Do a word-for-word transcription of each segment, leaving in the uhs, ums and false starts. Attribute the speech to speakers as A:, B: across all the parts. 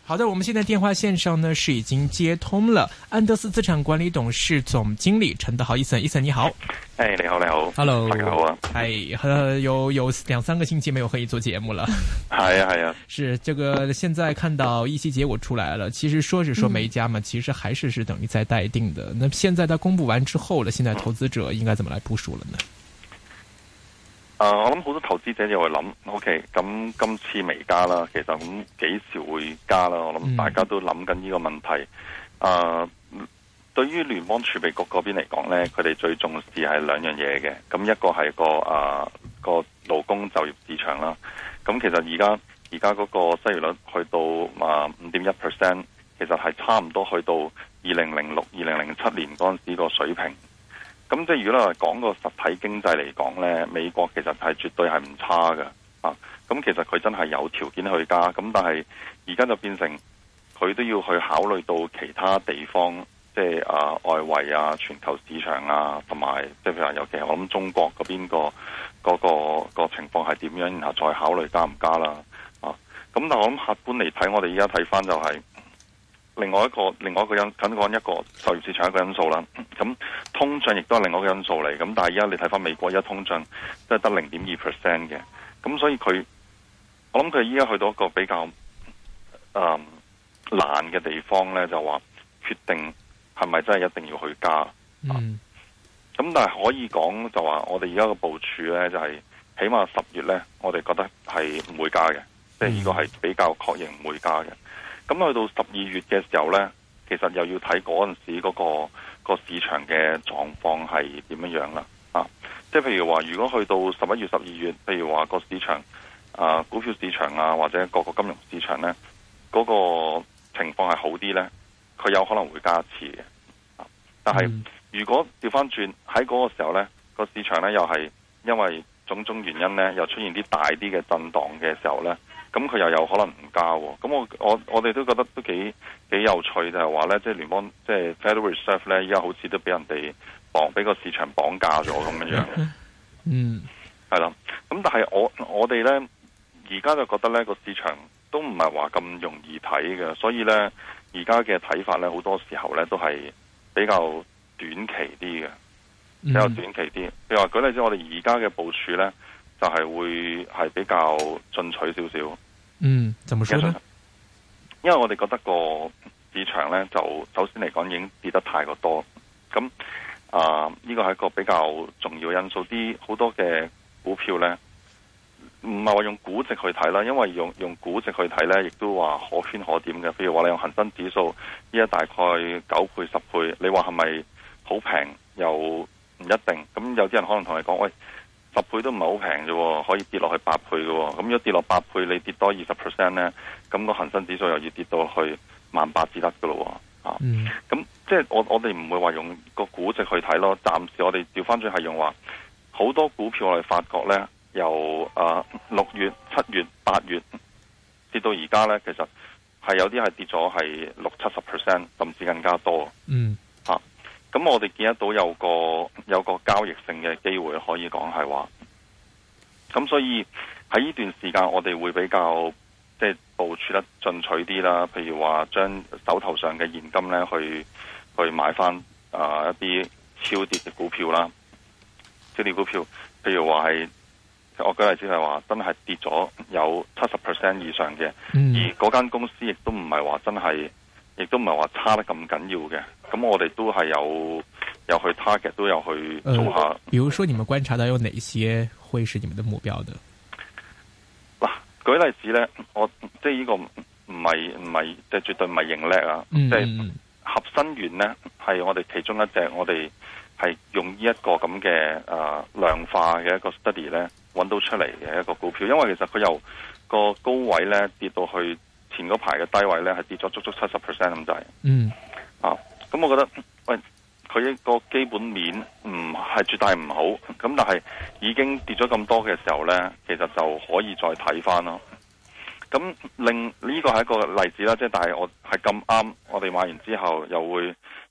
A: 好的，我們現在電話線上呢是已經接通了安德斯資產管理董事總經理陳德豪，Ethan，Ethan你好。
B: 哎，你好，你好
A: ，Hello，
B: 大家好啊。
A: 哎，呃，有有兩三個星期沒有和你做節目了。
B: 係啊，係啊。
A: 是這個，現在看到議息結果出來了，其實說是說沒加嘛，嗯、其實還是是等於在待定的。那現在它公布完之後了，現在投資者應該怎麼來部署了呢？
B: 誒、呃，我諗好多投資者就會諗 ，OK，咁今次未加啦，其實咁幾時會加啦？我諗大家都諗緊呢個問題。誒、呃，對於聯邦儲備局嗰邊嚟講咧，佢哋最重視係兩樣嘢嘅。咁一個係個誒、呃、個勞工就業市場啦。咁其實而家而家嗰個失業率去到啊五點一 percent， 其實係差唔多去到二零零六、二零零七年嗰陣時個水平。咁即係如果你話講個實體經濟嚟講呢，美國其實係絕對係唔差嘅啊！咁其實佢真係有條件去加，咁但係而家就變成佢都要去考慮到其他地方，即係啊外圍啊、全球市場啊，同埋即係譬如話尤其係我諗中國嗰邊個嗰個個情況係點樣，然後再考慮加唔加啦啊！咁但係我諗客觀嚟睇，我哋而家睇翻就係、是。另外一個另外一個因緊講一個就業市場一個因素啦，咁通脹亦都係另外一個因素嚟，咁但係而家你睇翻美國而家通脹都係得零點二 percent 嘅，咁所以佢我諗佢依家去到一個比較誒、呃、難嘅地方咧，就話決定係咪真係一定要去加，嗯，咁、啊、但係可以講就話我哋而家嘅部署咧就係、是、起碼十月咧，我哋覺得係唔會加嘅，即係呢個係比較確認唔會加嘅。咁去到十二月嘅時候呢，其實又要睇嗰陣時嗰、嗰個、嗰個市場嘅狀況係點樣樣啦。啊，即係譬如話，如果去到十一月、十二月，譬如話個市場啊，股票市場啊，或者各個金融市場呢，嗰、嗰個情況係好啲呢，佢有可能會加一次嘅。啊，但係、嗯、如果調翻轉喺嗰個時候呢，個市場呢又係因為種種原因呢，又出現啲大啲嘅震盪嘅時候呢。咁佢又有可能唔加喎，咁我我我哋都覺得都幾幾有趣，就係話咧，即係聯邦即係 Federal Reserve 咧，依家好似都俾人哋綁，俾個市場綁架咗咁樣樣。嗯，係啦。咁但係我我哋咧，而家就覺得咧個市場都唔係話咁容易睇嘅，所以咧而家嘅睇法咧好多時候咧都係比較短期啲嘅，比較短期啲。譬如話舉例子，我哋而家嘅部署咧。就係會係比較進取少少。嗯，怎麼說呢？因為我哋覺得個市場咧，就首先嚟講已經跌得太過多。咁啊，呢個係一個比較重要因素。啲好多嘅股票咧，唔係話用估值去睇啦，因為用用估值去睇咧，亦都話可圈可點嘅。譬如話你用恒生指數，依家大概九倍、十倍，你話係咪好平？又唔一定。咁有啲人可能同你講，喂。十倍都唔係好平啫，可以跌落去八倍嘅。咁如果跌落八倍，你跌多二十 percent 咧，咁個恒生指數又要跌到去萬八至得嘅咯。啊，咁、嗯、即係我我哋唔會話用個估值去睇咯。暫時我哋調翻轉係用話，好多股票我哋發覺咧，由啊六月、七月、八月跌到而家咧，其實係有啲係跌咗係六七十 percent，甚至更加多。嗯。咁我哋見得到有個有個交易性嘅機會，可以講係話，咁所以喺呢段時間我哋會比較即係部署得進取啲啦。譬如話將手頭上嘅現金咧去去買翻啊、呃、一啲超跌嘅股票啦，超跌股票，譬如話係我舉例子係話真係跌咗有七十 percent 以上嘅，嗯、而嗰間公司亦都唔係話真係。亦都唔係話差得咁緊要嘅，咁我哋都係有有去 target， 都有去做下。呃，
A: 比如說，你們觀察到有哪些會是你們的目標的？
B: 嗱，舉例子咧，我即係呢個唔係唔係即係絕對唔係盈叻啊！即係、嗯、合生元咧，係我哋其中一隻，我哋係用呢一個咁嘅誒量化嘅一個 study 咧，揾到出嚟嘅一個股票，因為其實佢由個高位咧跌到去。前嗰排嘅低位咧，係跌咗足足七十 percent 咁滯。嗯，啊，咁我覺得，喂，佢個基本面唔係絕對唔好，咁但係已經跌咗咁多嘅時候咧，其實就可以再睇翻咯。咁另呢個係一個例子啦，即係但係我係咁啱，我哋買完之後又會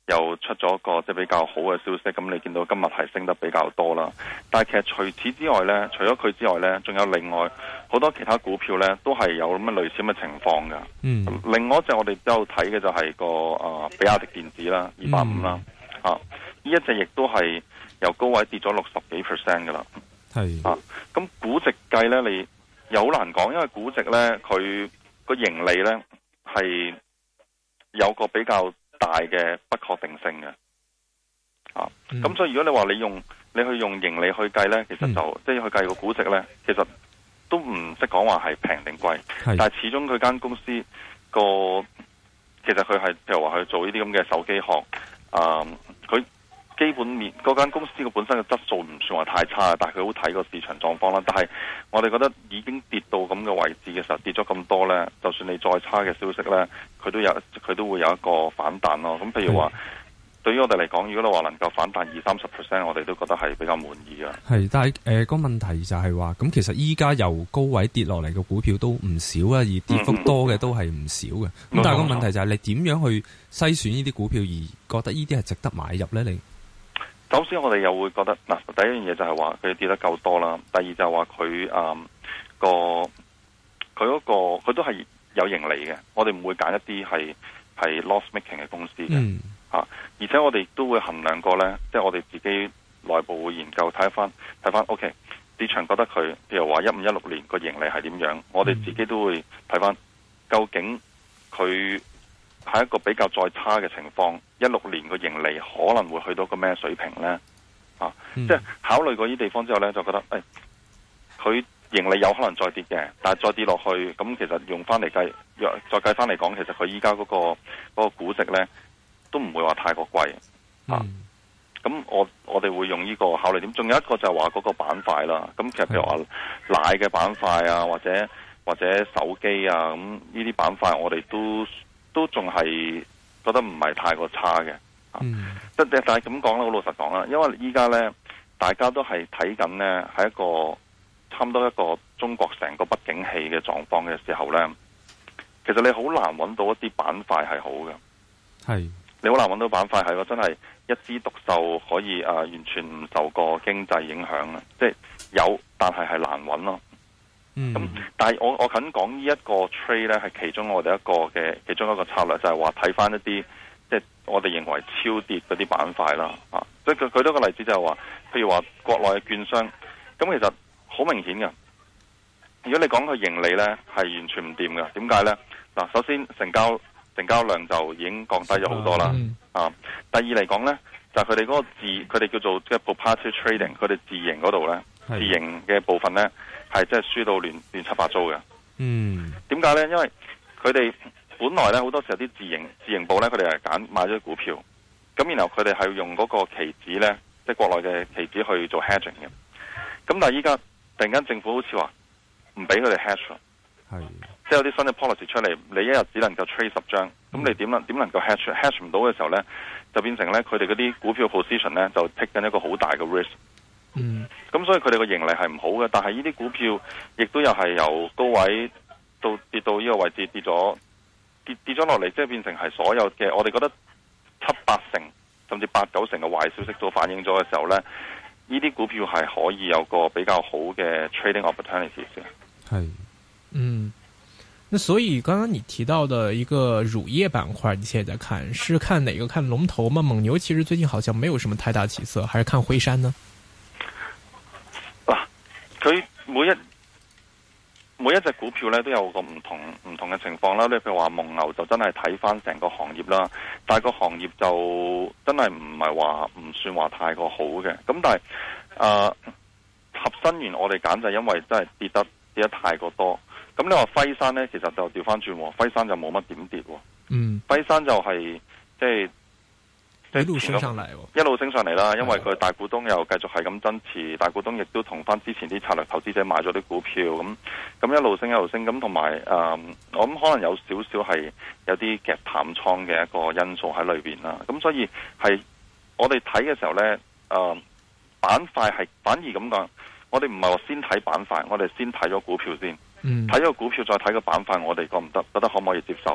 B: 又出咗個即係比較好嘅消息，咁你見到今日係升得比較多啦。但係其實除此之外呢，除咗佢之外呢，仲有另外好多其他股票呢，都係有咁嘅類似嘅情況㗎。嗯，另外一隻我哋都有睇嘅就係個啊比亞迪電子啦，二百五啦，啊呢一隻亦都係由高位跌咗六十幾 percent 㗎啦。係啊，咁估值計呢，你又好難講，因為估值呢，佢個盈利呢係有個比較大嘅不確定性嘅，啊，咁、嗯、所以如果你話你用你去用盈利去計呢，其實就、嗯、即係去計個估值呢，其實都唔識講話係平定貴，但係始終佢間公司個其實佢係譬如話去做呢啲咁嘅手機殼，啊，佢基本面嗰間公司嘅本身嘅質素唔算話太差，但係佢好睇個市場狀況啦。但係我哋覺得已經跌到咁嘅位置嘅時候，跌咗咁多呢，就算你再差嘅消息呢，佢都有佢都會有一個反彈咯。咁譬如話，對於我哋嚟講，如果你話能夠反彈二三十 percent，我哋都覺得係比較滿意嘅。係，但係誒個問題就係話，咁其實依家由高位跌落嚟嘅股票都唔少啊，而跌幅多嘅都係唔少嘅。咁、嗯、但係個問題就係你點樣去篩選呢啲股票，而覺得呢啲係值得買入呢？你？首先我哋又會覺得嗱，第一樣嘢就係話佢跌得夠多啦，第二就係話佢誒個佢嗰個佢都係有盈利嘅，我哋唔會揀一啲係係 loss making 嘅公司嘅嚇、嗯啊，而且我哋都會衡量過咧，即係我哋自己內部會研究睇翻睇翻 OK 市場覺得佢譬如話一五一六年個盈利係點樣，我哋自己都會睇翻究竟佢係一個比較再差嘅情況，一六年個盈利可能會去到個咩水平呢？啊，嗯、即係考慮過呢啲地方之後呢，就覺得誒，佢、哎、盈利有可能再跌嘅，但係再跌落去，咁其實用翻嚟計，再計翻嚟講，其實佢依家嗰個嗰、嗰個估值呢，都唔會話太過貴啊。咁、嗯、我我哋會用呢個考慮點，仲有一個就係話嗰個板塊啦。咁其實譬如話奶嘅板塊啊，或者或者手機啊，咁呢啲板塊我哋都。都仲係覺得唔係太過差嘅，嗯，但係咁講啦，好老實講啦，因為依家呢，大家都係睇緊呢，係一個差唔多一個中國成個不景氣嘅狀況嘅時候呢，其實你好難揾到一啲板塊係好嘅，係你好難揾到板塊係個真係一枝獨秀，可以啊、呃、完全唔受個經濟影響啊，即係有，但係係難揾咯。咁、嗯，但係我我肯講呢一個 trade 咧，係其中我哋一個嘅其中一個策略，就係話睇翻一啲即係我哋認為超跌嗰啲板塊啦，啊，即係佢舉多個例子就係話，譬如話國內嘅券商，咁其實好明顯嘅。如果你講佢盈利咧，係完全唔掂嘅，點解咧？嗱，首先成交成交量就已經降低咗好多啦，啊，第二嚟講咧，就係佢哋嗰個自佢哋叫做即係 proprietary trading，佢哋自營嗰度咧，自營嘅部分咧。係真係輸到亂亂七八糟嘅。嗯，點解呢？因為佢哋本來呢，好多時候啲自營自營部呢，佢哋係揀買咗股票，咁然後佢哋係用嗰個期指呢，即係國內嘅期指去做 hedging 嘅。咁但係依家突然間政府好似話唔俾佢哋 hedge，係即係有啲新嘅 policy 出嚟，你一日只能夠 trade 十張，咁、嗯、你點能點能夠 hedge hedge 唔到嘅時候呢，就變成呢，佢哋嗰啲股票 position 呢，就 take 緊一個好大嘅 risk。嗯，咁所以佢哋個盈利係唔好嘅，但係呢啲股票亦都又係由高位到跌到呢個位置跌咗跌跌咗落嚟，即係變成係所有嘅我哋覺得七八成甚至八九成嘅壞消息都反映咗嘅時候呢，呢啲股票係可以有個比較好嘅 trading opportunities 嘅。係，嗯，那所以剛剛你提到的一個乳業板塊，你現在在看是看哪個？看龍頭嗎？蒙牛其實最近好像沒有什麼太大起色，還是看輝山呢？佢每一每一隻股票咧都有個唔同唔同嘅情況啦。你譬如話蒙牛就真係睇翻成個行業啦，但係個行業就真係唔係話唔算話太過好嘅。咁但係誒、呃、合生元我哋揀就係因為真係跌得跌得太過多。咁你話輝山咧，其實就調翻轉，輝山就冇乜點跌。嗯，輝山就係、是、即係。一路升上嚟，一路升上嚟啦，因為佢大股東又繼續係咁增持，大股東亦都同翻之前啲策略投資者買咗啲股票，咁咁一路升一路升，咁同埋誒，我諗可能有少少係有啲夾淡倉嘅一個因素喺裏邊啦，咁所以係我哋睇嘅時候呢，誒、呃、板塊係反而咁講，我哋唔係話先睇板塊，我哋先睇咗股票先，睇咗股票再睇個板塊，我哋覺唔得，覺得可唔可以接受？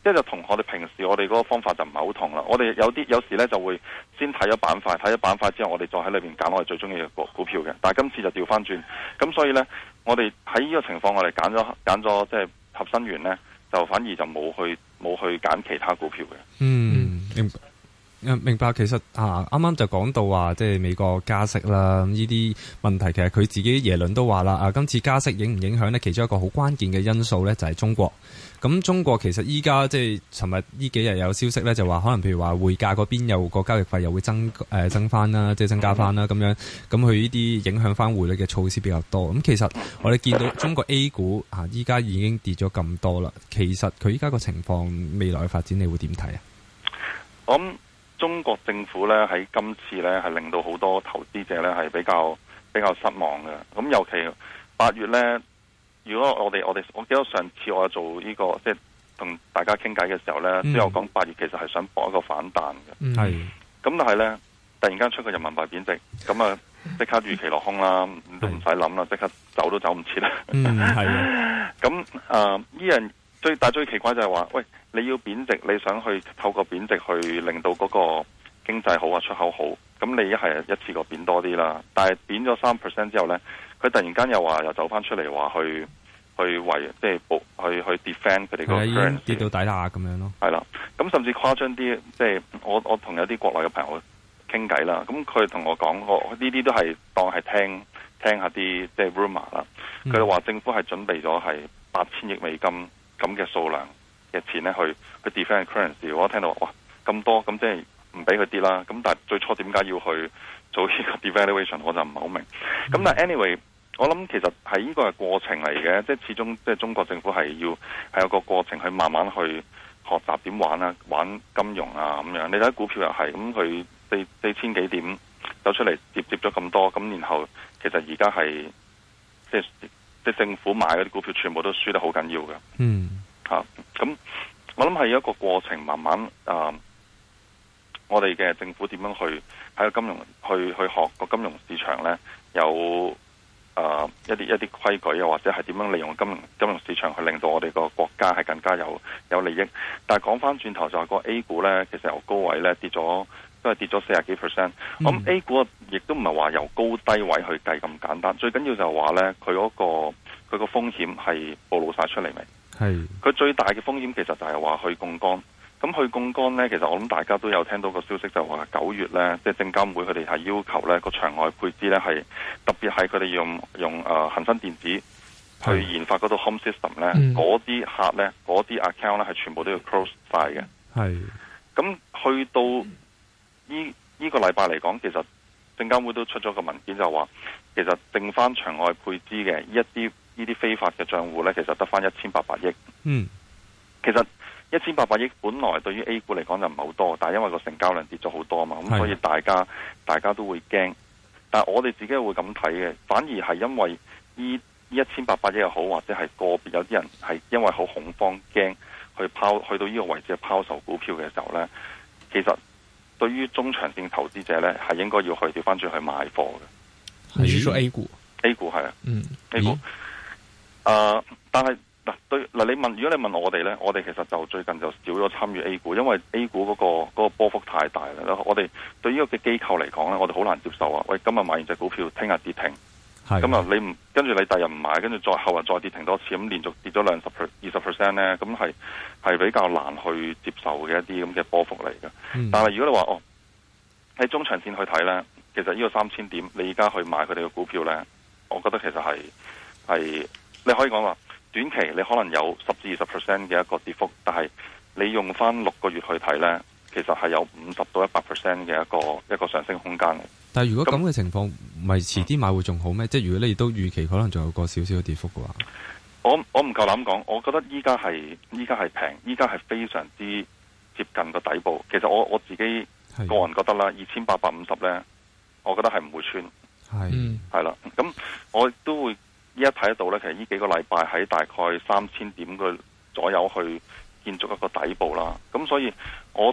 B: 即係就同我哋平時我哋嗰個方法就唔係好同啦。我哋有啲有時咧就會先睇咗板塊，睇咗板塊之後，我哋再喺裏邊揀我哋最中意嘅股股票嘅。但係今次就調翻轉，咁所以咧，我哋喺呢個情況，我哋揀咗揀咗即係合生元咧，就反而就冇去冇去揀其他股票嘅。
C: 嗯，明白。明白，其實啊，啱啱就講到話，即係美國加息啦，呢啲問題其實佢自己耶倫都話啦，啊，今次加息影唔影響呢？其中一個好關鍵嘅因素呢，就係中國。咁中國其實依家即係尋日呢幾日有消息呢，就話可能譬如話匯價嗰邊有個交易費又會增誒、呃、增翻啦，即係增加翻啦咁樣。咁佢呢啲影響翻匯率嘅措施比較多。咁其實我哋見到中國 A 股啊，依家已經跌咗咁多啦。其實佢依家個情況未來嘅發展，你會點睇啊？
B: 我諗中國政府咧喺今次咧係令到好多投資者咧係比較比較失望嘅。咁尤其八月咧，如果我哋我哋我記得上次我做呢、這個即係同大家傾偈嘅時候咧，都有講八月其實係想搏一個反彈嘅。係、嗯。咁但係咧，突然間出個人民幣貶值，咁啊即刻預期落空啦，都唔使諗啦，即刻走都走唔切啦。嗯，係。咁啊，呢樣最但係最奇怪就係話，喂。你要貶值，你想去透過貶值去令到嗰個經濟好啊，出口好，咁你一係一次過貶多啲啦。但係貶咗三 percent 之後呢，佢突然間又話又走翻出嚟話去去為即係保去去 defend 佢哋個 currency
C: 跌到底下咁樣咯。
B: 係啦，咁甚至誇張啲，即係我我同有啲國內嘅朋友傾偈啦，咁佢同我講過呢啲都係當係聽聽下啲即係 rumor 啦。佢哋話政府係準備咗係八千億美金咁嘅數量嘅錢咧，去去 defend currency， 我聽到哇咁多，咁即係唔俾佢跌啦。咁但係最初點解要去做呢個 devaluation， 我就唔係好明。咁、嗯、但係 anyway，我諗其實係呢個係過程嚟嘅，即係始終即係中國政府係要係有個過程去慢慢去學習點玩啊，玩金融啊咁樣。你睇股票又係咁，佢四四千幾點走出嚟接接咗咁多，咁然後其實而家係即係即係政府買嗰啲股票全部都輸得好緊要嘅。嗯。吓、啊、咁，我諗係一個過程，慢慢啊，我哋嘅政府點樣去喺個金融去去學個金融市場咧，有啊一啲一啲規矩，又或者係點樣利用金融金融市場去令到我哋個國家係更加有有利益。但係講翻轉頭就係個 A 股咧，其實由高位咧跌咗，都係跌咗四十幾 percent。咁 A 股亦都唔係話由高低位去計咁簡單，最緊要就係話咧，佢嗰個佢個風險係暴露晒出嚟未？係，佢最大嘅風險其實就係話去槓桿。咁去槓桿呢，其實我諗大家都有聽到個消息，就話九月呢，即係證監會佢哋係要求呢個場外配資呢，係特別係佢哋用用誒恒生電子去研發嗰套 home system 呢，嗰啲客呢，嗰啲 account 呢係全部都要 close 晒嘅。係，咁去到呢呢個禮拜嚟講，其實證監會都出咗個文件就話，其實剩翻場外配資嘅一啲。呢啲非法嘅賬戶呢，其實得翻一千八百億。嗯，其實一千八百億本來對於 A 股嚟講就唔係好多，但係因為個成交量跌咗好多嘛，咁所以大家大家都會驚。但係我哋自己會咁睇嘅，反而係因為呢一千八百億又好，或者係個別有啲人係因為好恐慌驚去拋去到呢個位置拋售股票嘅時候呢，其實對於中長線投資者呢，係應該要去調翻轉去買貨嘅。
A: 你是說 A 股
B: ？A 股係啊，嗯
A: ，A 股。
B: 誒、uh，但係嗱對嗱，你問如果你問我哋咧，我哋其實就最近就少咗參與 A 股，因為 A 股嗰、嗰個嗰、嗰個波幅太大啦。我哋對於呢個嘅機構嚟講咧，我哋好難接受啊！喂，今日買完隻股票，聽日跌停，咁啊你唔跟住你第日唔買，跟住再後日再跌停多次，咁連續跌咗兩十 per 二十 percent 咧，咁係係比較難去接受嘅一啲咁嘅波幅嚟嘅、嗯。但係如果你話哦喺中長線去睇咧，其實呢個三千點，你而家去買佢哋嘅股票咧，我覺得其實係係。你可以講話短期你可能有十至二十 percent 嘅一個跌幅，但係你用翻六個月去睇呢，其實係有五十到一百 percent 嘅一個一個上升空間嘅。
C: 但係如果咁嘅情況，唔係遲啲買會仲好咩？即係如果你都預期可能仲有個少少嘅跌幅嘅話，
B: 我我唔夠膽講。我覺得依家係依家係平，依家係非常之接近個底部。其實我我自己個人覺得啦，二千八百五十呢，我覺得係唔會穿。係係啦，咁我都會。依家睇得到咧，其實呢幾個禮拜喺大概三千點嘅左右去建築一個底部啦。咁所以我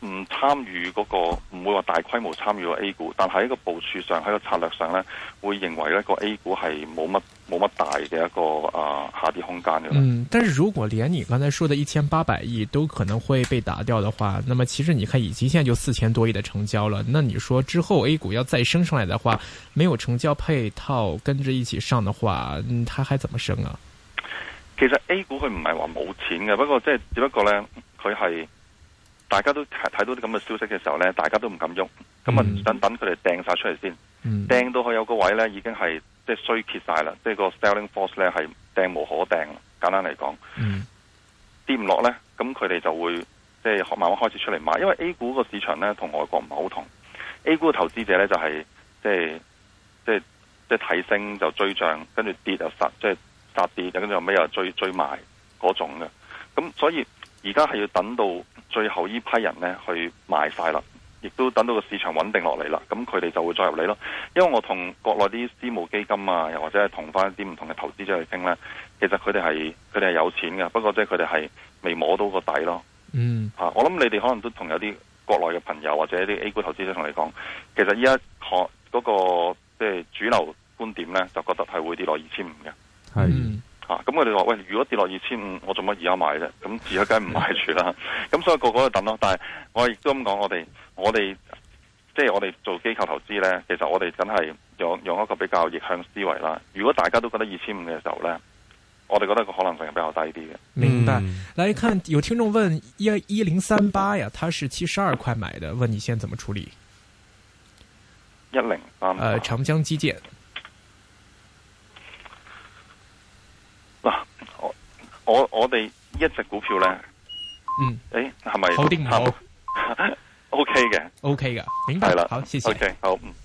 B: 唔參與嗰個，唔會話大規模參與個 A 股，但喺個部署上，喺個策略上咧，會認為一個 A 股係冇乜冇乜大嘅一個啊、呃、下跌空間嘅。
A: 嗯，但是如果連你剛才說的一千八百億都可能會被打掉的話，那麼其實你看以及現在就四千多億的成交了，那你說之後 A 股要再升上來的話，沒有成交配套跟着一起上的話，嗯，它還怎麼升啊？
B: 其實 A 股佢唔係話冇錢嘅，不過即係只不過咧，佢係。大家都睇到啲咁嘅消息嘅時候咧，大家都唔敢喐，咁啊等等佢哋掟晒出嚟先，掟、嗯、到佢有個位咧，已經係即係衰竭晒啦，即係個 selling force 咧係掟無可掟。簡單嚟講，嗯、跌唔落咧，咁佢哋就會即係慢慢開始出嚟買，因為 A 股個市場咧同外國唔係好同 ，A 股嘅投資者咧就係、是、即係即係即係睇升就追漲，跟住跌就殺，即係殺跌，跟住後尾又追追賣嗰種嘅，咁所以而家係要等到最後呢批人咧去賣晒啦，亦都等到個市場穩定落嚟啦，咁佢哋就會再入嚟咯。因為我同國內啲私募基金啊，又或者係同翻一啲唔同嘅投資者去傾咧，其實佢哋係佢哋係有錢嘅，不過即係佢哋係未摸到個底咯。嗯，啊，我諗你哋可能都同有啲國內嘅朋友或者一啲 A 股投資者同你講，其實依家學嗰個即係主流觀點咧，就覺得係會跌落二千五嘅。係。嗯啊，咁佢哋話喂，如果跌落二千五，我做乜而家買啫？咁而家梗係唔買住啦。咁所以個個都等咯。但係我亦都咁講，我哋我哋即係我哋做機構投資咧，其實我哋真係用用一個比較逆向思維啦。如果大家都覺得二千五嘅時候咧，我哋覺得個可能性係比較低啲嘅。
A: 明白。來看有聽眾問一一零三八呀，他是七十二塊買的，問你現在怎麼處理？
B: 一零三，
A: 呃，長江基建。
B: 嗱，我我我哋一隻股票咧，
A: 嗯，
B: 誒係咪
A: 好定唔好？
B: ？O K 嘅，
A: ，O K 嘅，明白。
B: 係啦，
A: 好，謝謝。
B: OK， 好，嗯。